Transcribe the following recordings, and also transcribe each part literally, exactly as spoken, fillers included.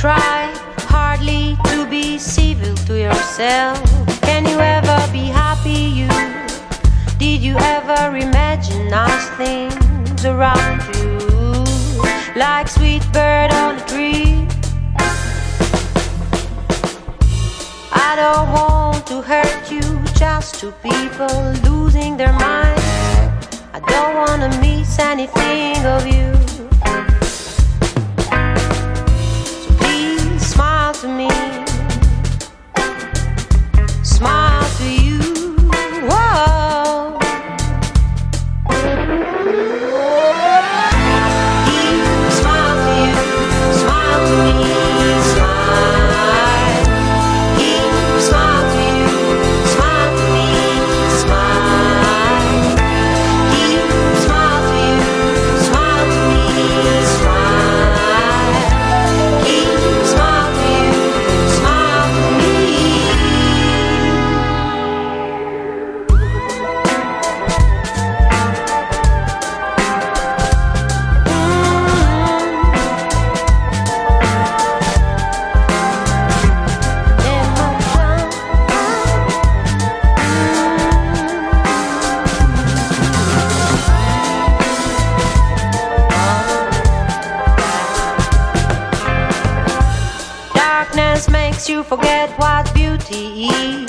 try hardly to be civil to yourself. Can you ever be happy, you? Did you ever imagine nice things around you? Like sweet bird on a tree. I don't want to hurt you, just two people losing their minds. I don't wanna miss anything of you. So please smile to me, smile to you. Whoa. Please smile to you, smile to me, smile. Please smile to you, smile to me, smile. Please smile to you, smile to me, smile. Please smile to you, smile to me. Darkness makes you forget what beauty is.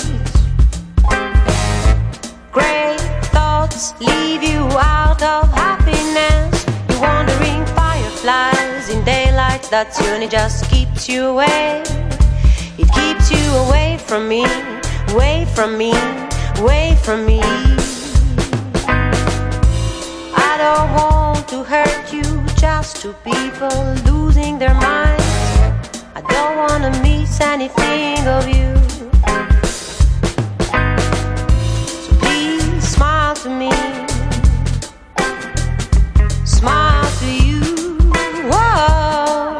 Great thoughts leave you out of happiness. You wandering fireflies in daylight that only just keeps you away. It keeps you away from me, away from me, away from me. I don't want to hurt you, just two people losing their minds. I don't wanna miss anything of you. So please smile to me, smile to you. Whoa.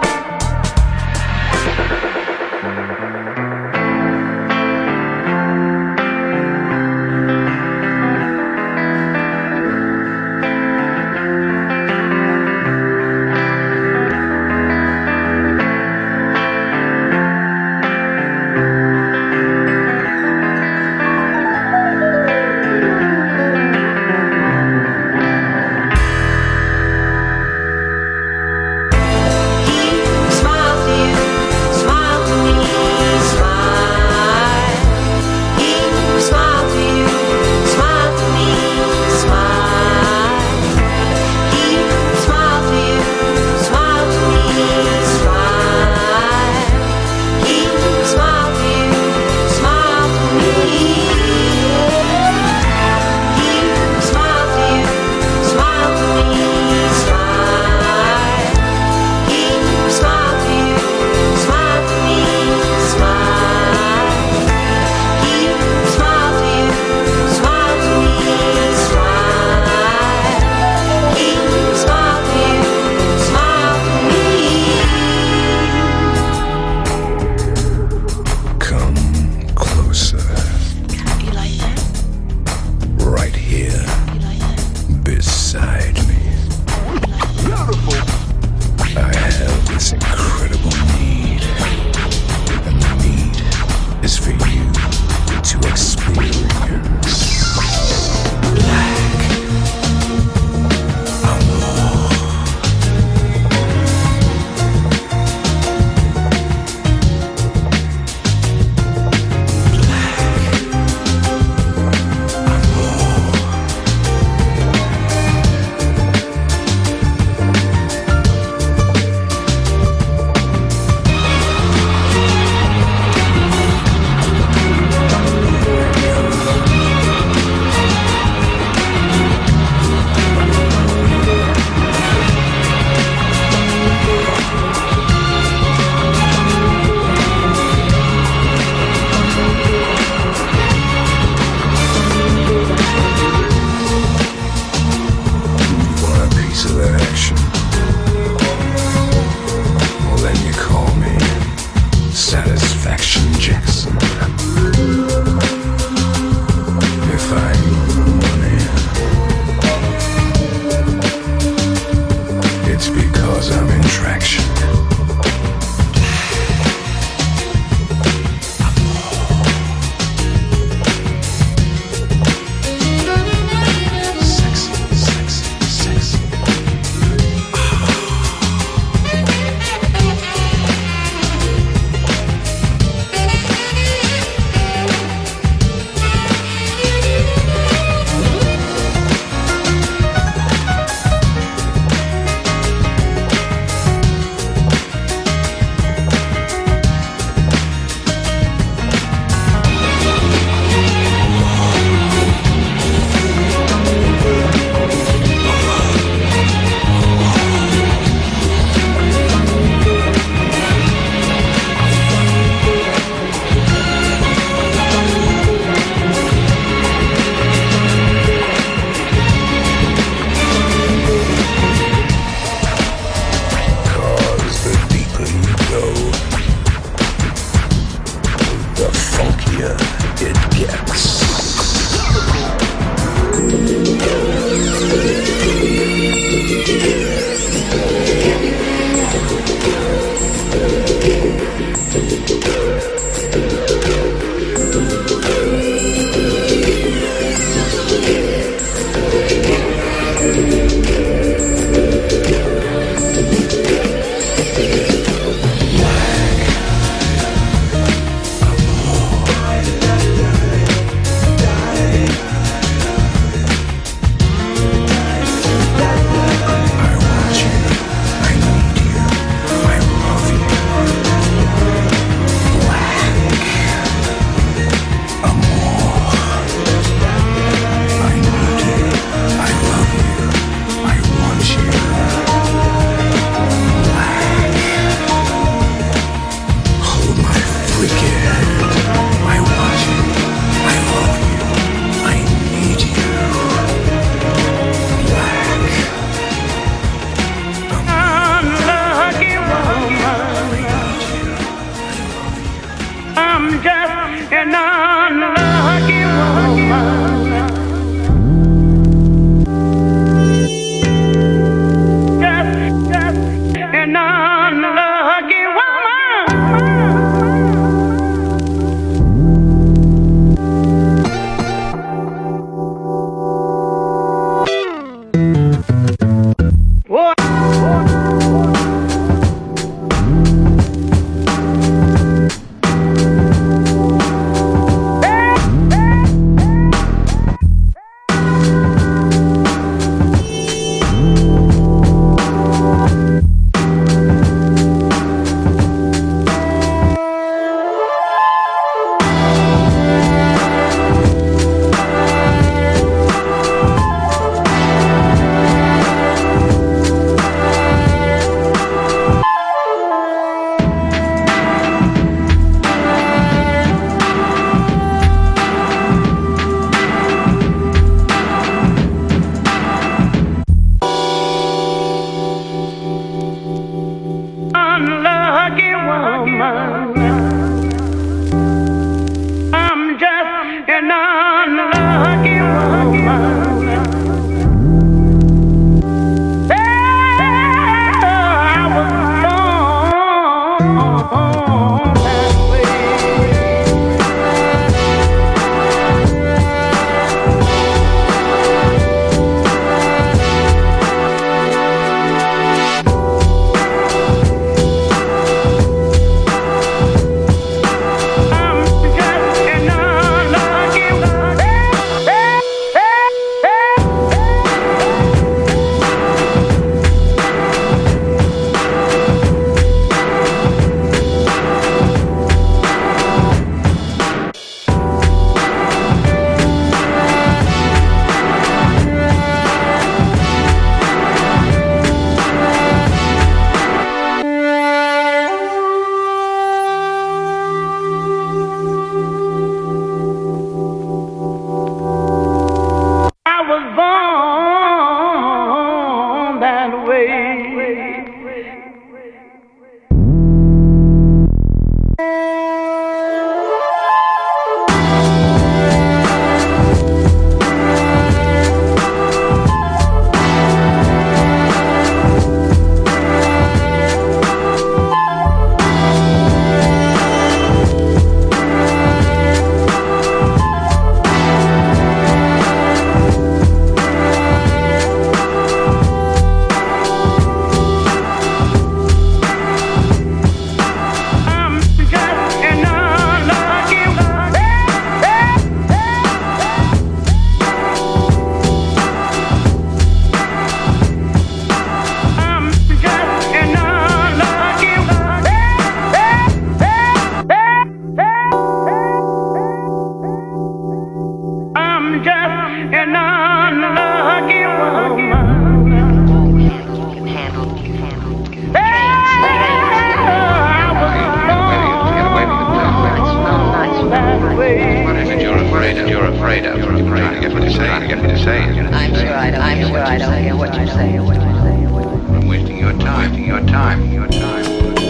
I'm wasting your time, wasting your time, your time.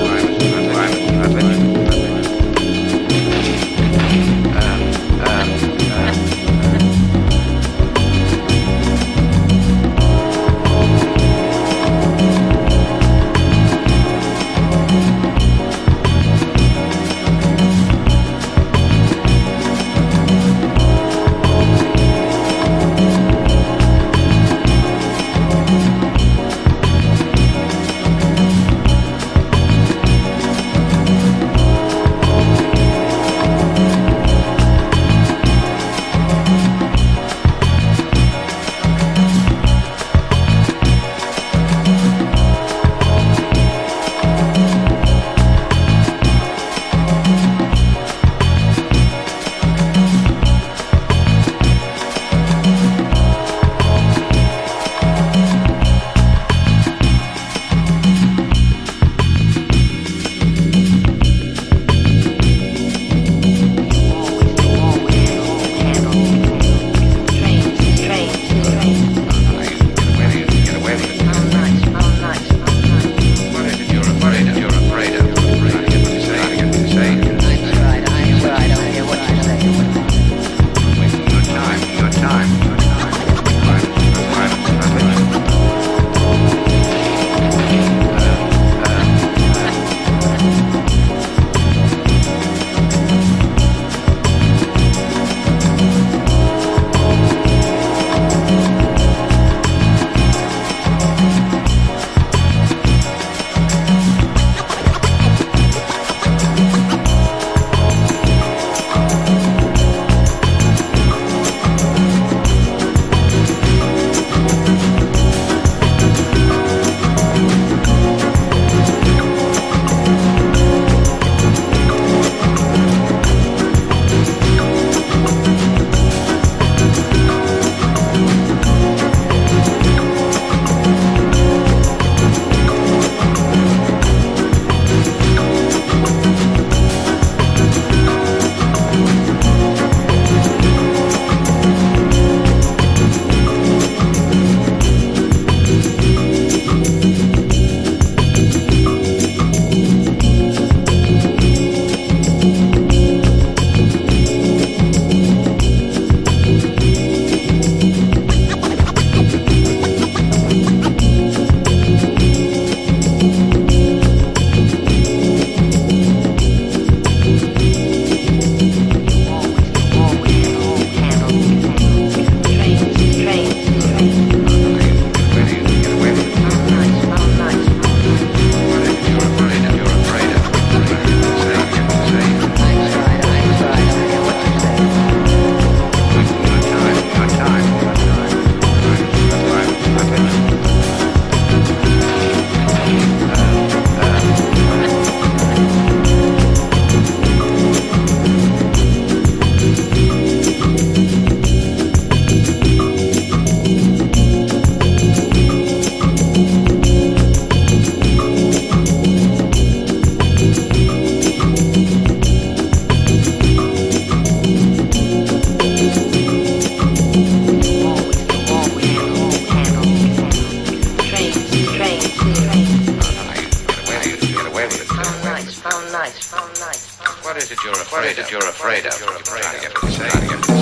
What is it you're afraid of? You're afraid of. You're afraid of. You're afraid of. I'm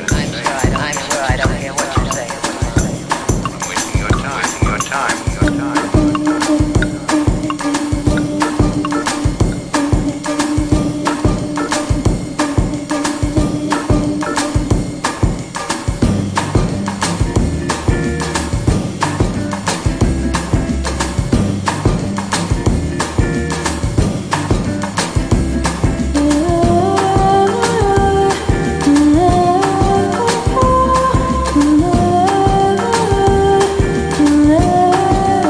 sure I, I'm sure I don't hear what you're saying. I'm wasting your time, your time, your time. Love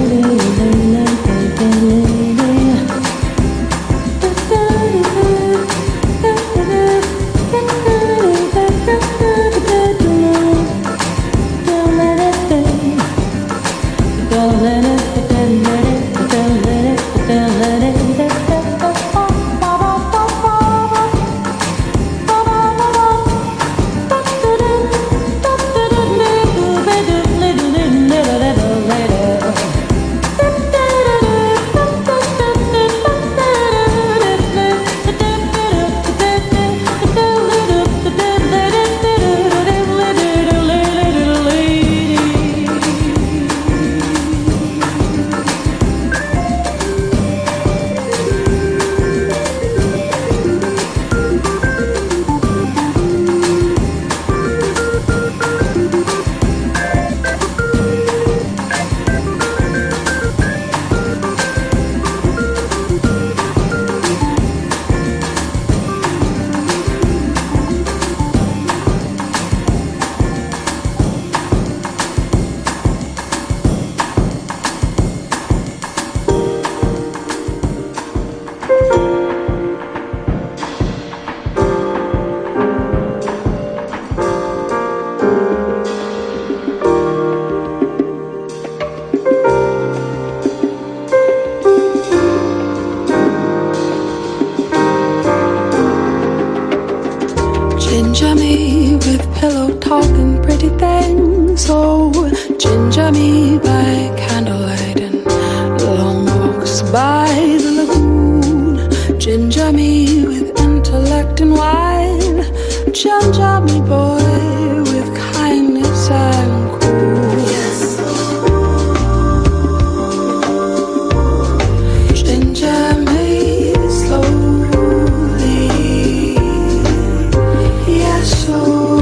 Ginger me with pillow talking pretty things. Oh, ginger me by candlelight and long walks by the lagoon. Ginger me with intellect and wine. Ginger me, boy, with kindness and cool. Yes. Ginger me slowly. Yes, oh.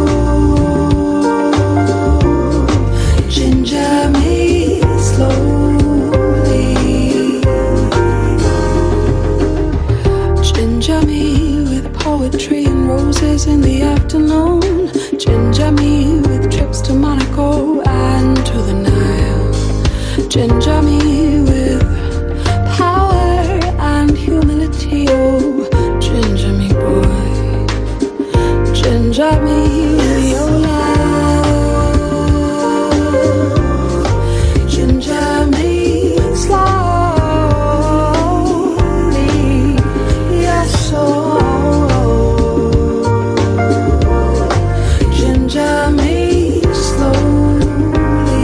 Ginger me slowly. Ginger me with poetry and roses in the afternoon. Ginger me with trips to Monaco and to the Nile. Ginger me with power and humility. Oh, ginger me, boy. Ginger me with your love. Ginger me slowly. Yes, oh. Ginger me slowly.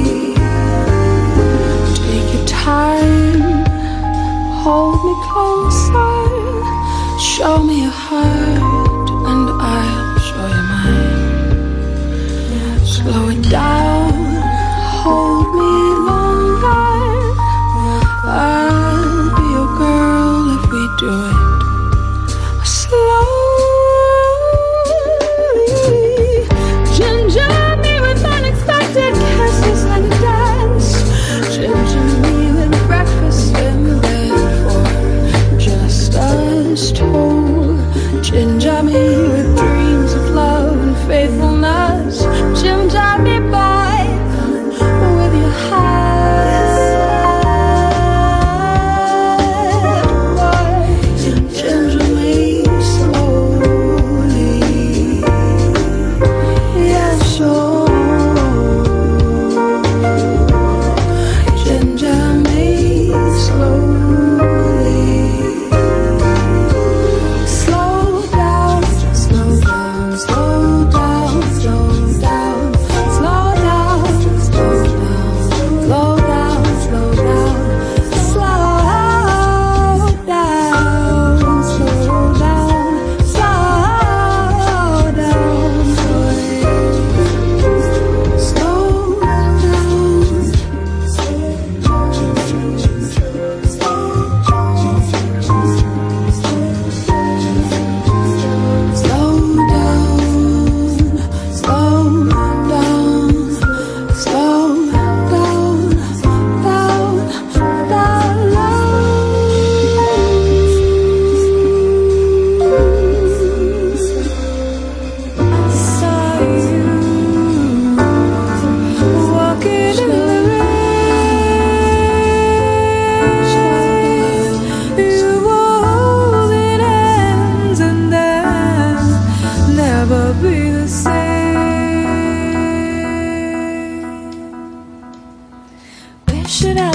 Take your time, hold me closer, show me your heart and I'll show you mine. Slow it down, hold me longer, I'll be your girl if we do it slowly. Ginger me with unexpected kisses and a dance. Ginger me with breakfast in bed for just us two. Ginger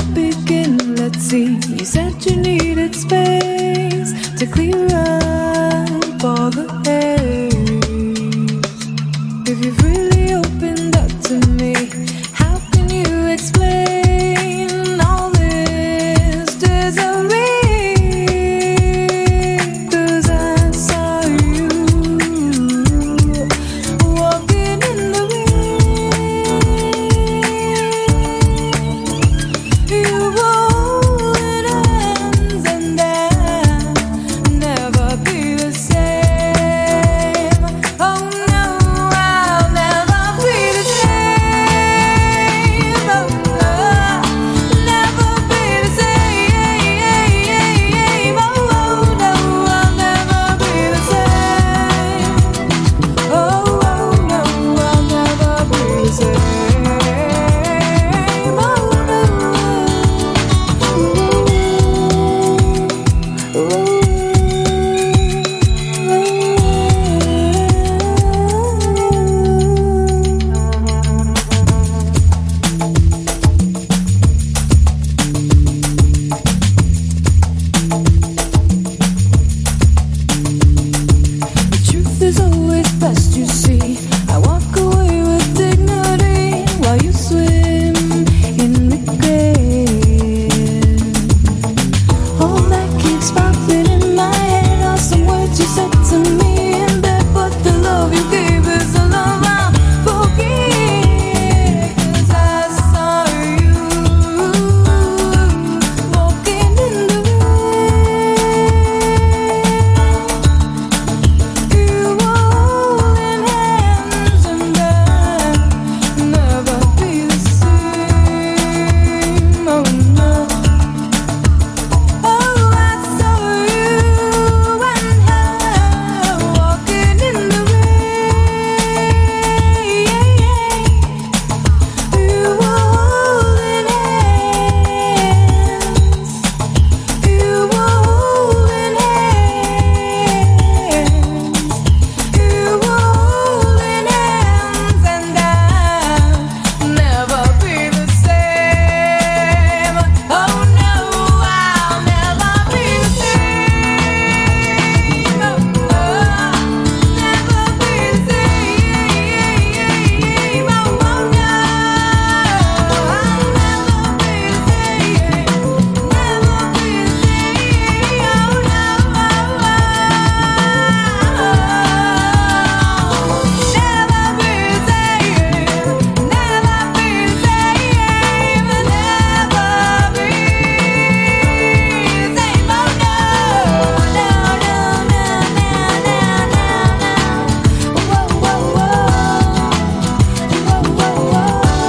begin? Let's see. You said you needed space to clear up all the haze. If you've really opened up to me, how can you explain all this misery? 'Cause I saw you walking in the rain. You were holding hands, and I'll never be the same. Oh no, I'll never be the same. Oh no, never be the same. Oh no, I'll never be the same. Oh no, I'll never be the same. Oh no. The truth is always best, you see. I walk away with dignity while you swim in regret. All that keeps popping in my head are some words you said to me in bed, but the love you gave is the love I'll forget. 'Cause I saw you walking in the rain. You were holding hands, and I'll never be the same. Oh no. Oh, I saw you and her walking in the rain. You were holding hands. You were holding hands. You were holding hands, and I'll never be the same. Oh no, I'll never be the same. Oh no, never be the same. Oh no, I'll never be the same. Never be the same. Oh no, never be the same. Never be the same. Never be the same. Oh no, no, no, no, no, no, no. Whoa, whoa, whoa. Whoa, whoa, whoa.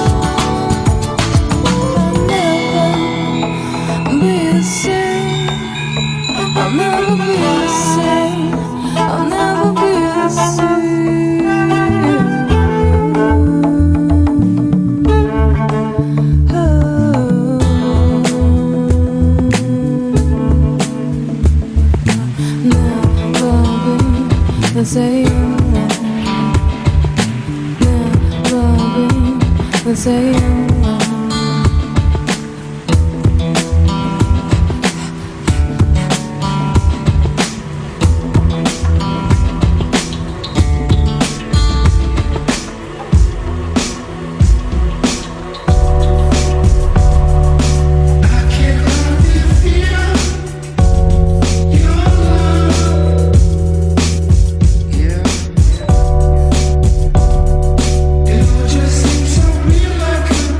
I'll never be the same. I'll never be the same. I'll never be the same. Oh. Never be the same. Never be the same. It just seems so real, like a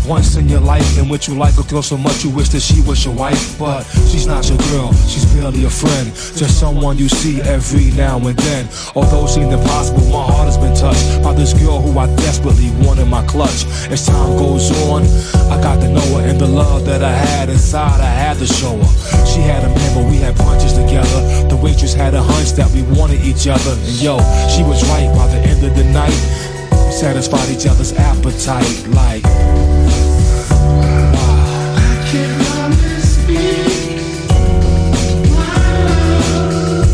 once in your life in which you like a girl so much you wish that she was your wife. But she's not your girl, she's barely a friend, just someone you see every now and then. Although it seemed impossible, my heart has been touched by this girl who I desperately want in my clutch. As time goes on, I got to know her, and the love that I had inside, I had to show her. She had a man, but we had punches together. The waitress had a hunch that we wanted each other, and yo, she was right. By the end of the night, we satisfied each other's appetite. Like, wow. I can only speak my love.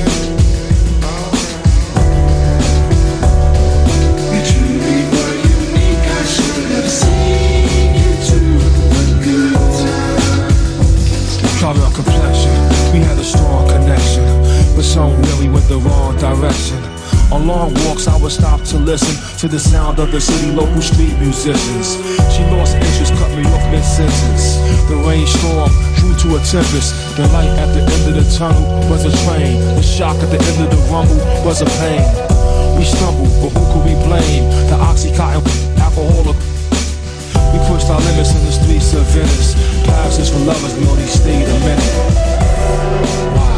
We truly were unique. I should have seen you through the good times. Caramel complexion, we had a strong connection, but somewhere we went the wrong direction. On long walks I would stop to listen to the sound of the city local street musicians. She lost interest, cut me off mid-sentence. The rainstorm drew to a tempest. The light at the end of the tunnel was a train. The shock at the end of the rumble was a pain. We stumbled, but who could we blame? The Oxycontin alcoholic. We pushed our limits in the streets of Venice. Paris is for lovers, we only stayed a minute. Wow.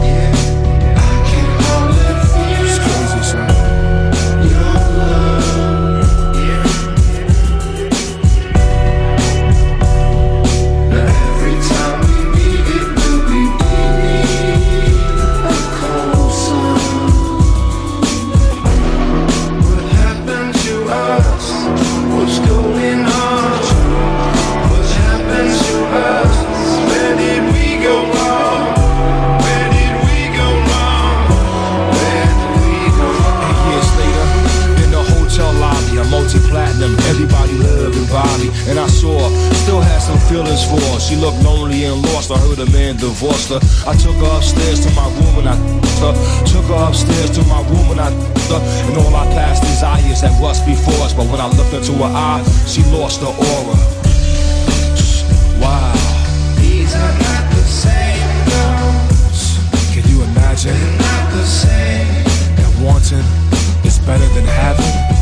Everybody loved and Bobby, and I saw her, still had some feelings for her. She looked lonely and lost, I heard a man divorced her. I took her upstairs to my room and I her. Took her upstairs to my room and I her. And all our past desires that rust before us, but when I looked into her eyes, she lost her aura. Wow. These are not the same girls. Can you imagine? They're not the same. That wanting is better than having.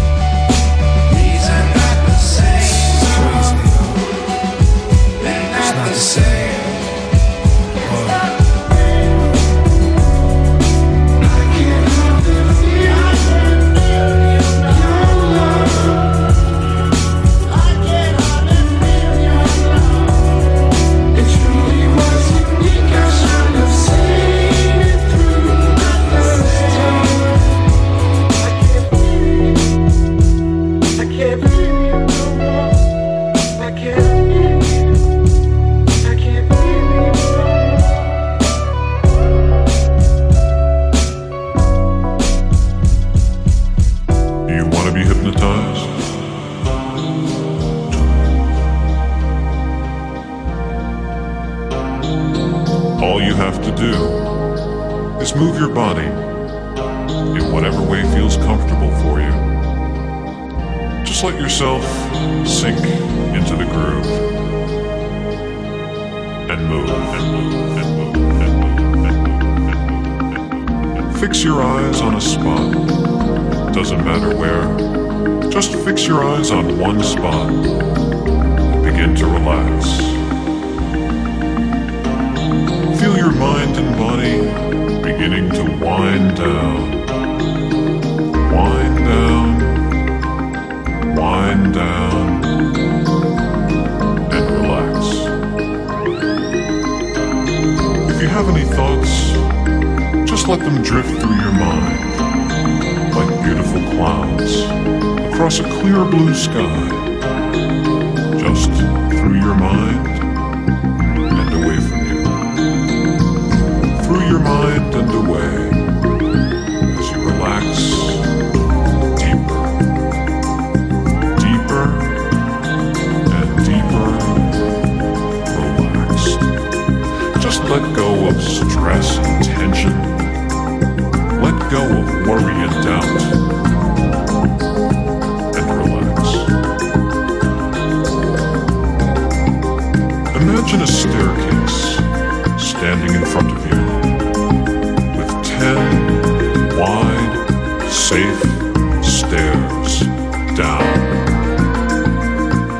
Move your body in whatever way feels comfortable for you. Just let yourself sink into the groove and move and move and move and move and move and move. Fix your eyes on a spot. Doesn't matter where. Just fix your eyes on one spot and begin to relax. Feel your mind and body beginning to wind down, wind down, wind down, and relax. If you have any thoughts, just let them drift through your mind like beautiful clouds across a clear blue sky, just through your mind and away from you. Through your mind and away as you relax deeper, deeper and deeper relaxed. Just let go of stress and tension. Let go of worry and doubt and relax. Imagine a staircase standing in front of you.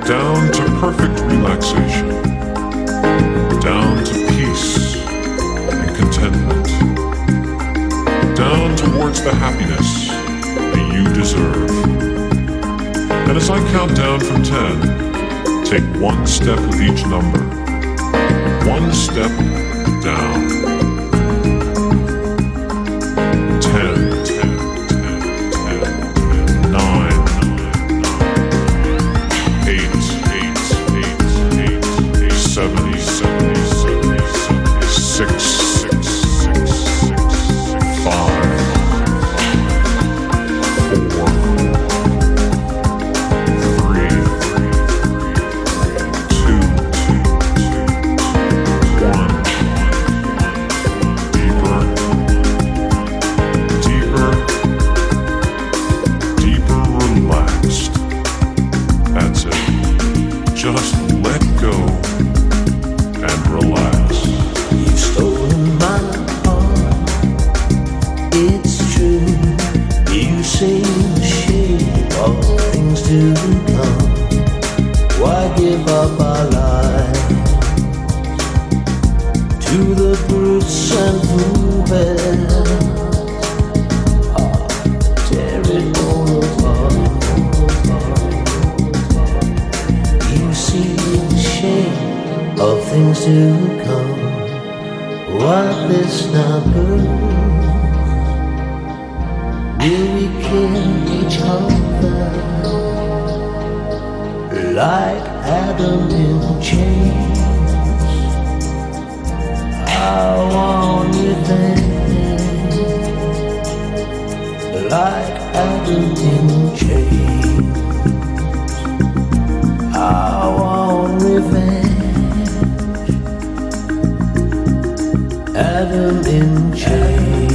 down to perfect relaxation, down to peace and contentment, down towards the happiness that you deserve. And as I count down from ten, take one step with each number, one step down. Ten, ten, ten, ten, ten, nine, nine, nine, eight, eight, eight, eight, eight, seventy, seventy, seventy, seventy, six, six, six, six, five, four, three, two, one. Deeper, deeper, deeper relaxed. That's it. Just let go and relax. You've stolen my heart, it's true. You say the shade of things to come. Why give up our lives to the brutes and foolbears? Ah, tear it all apart. You see the shade of things to come. What this now proves? Will we kill each other like Adam in chains? I want revenge like Adam in chains. I want revenge, Adam in chains.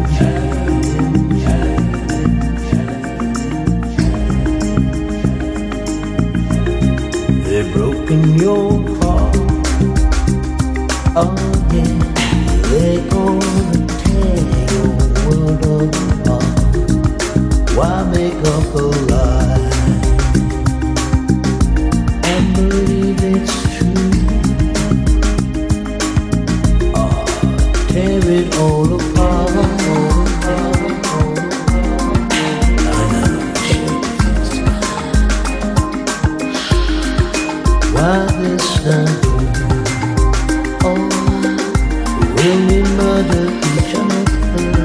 They've broken your heart, oh yeah. They're gonna tear your world apart. Why make up a lie and believe it's true? Oh, tear it all apart. I know shit feels to why this time? Oh, will we murder each other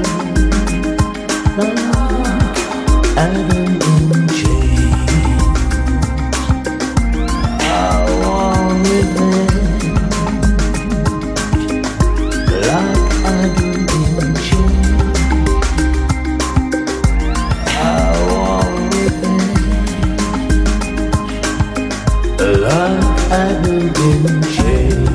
like Adam in chains? I want revenge like Adam in chains. I want revenge like Adam in chains.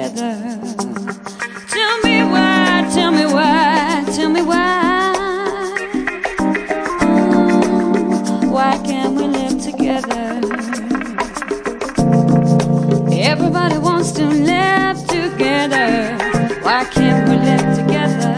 together. Tell me why, tell me why, tell me why. Oh, why can't we live together? Everybody wants to live together. Why can't we live together?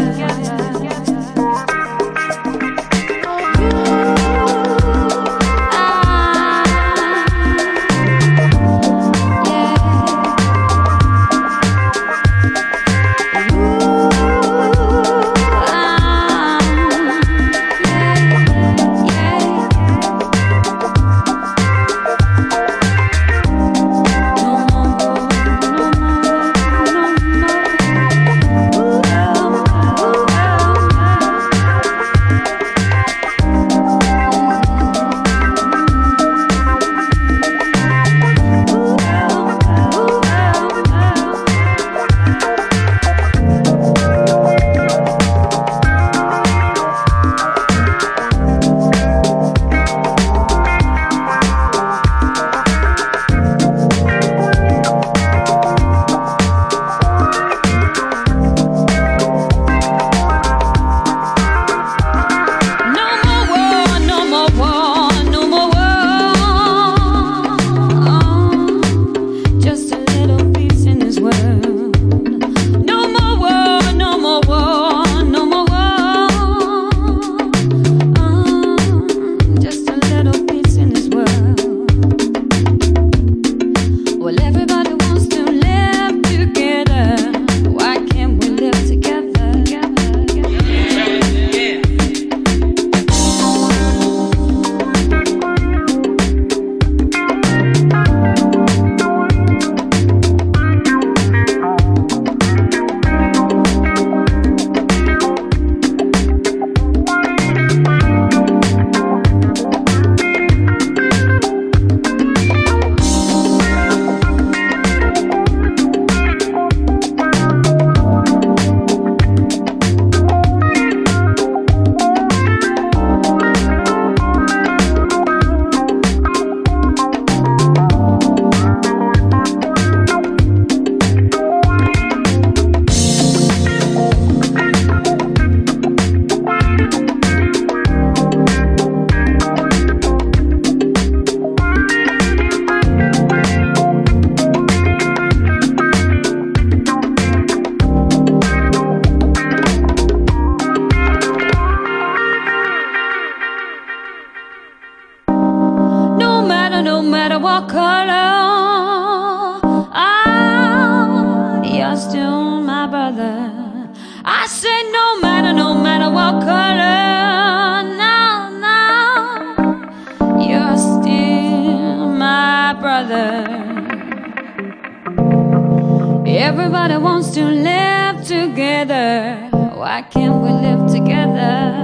Everybody wants to live together. Why can't we live together?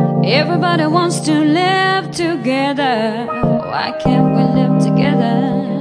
Everybody wants to live together. Why can't we live together?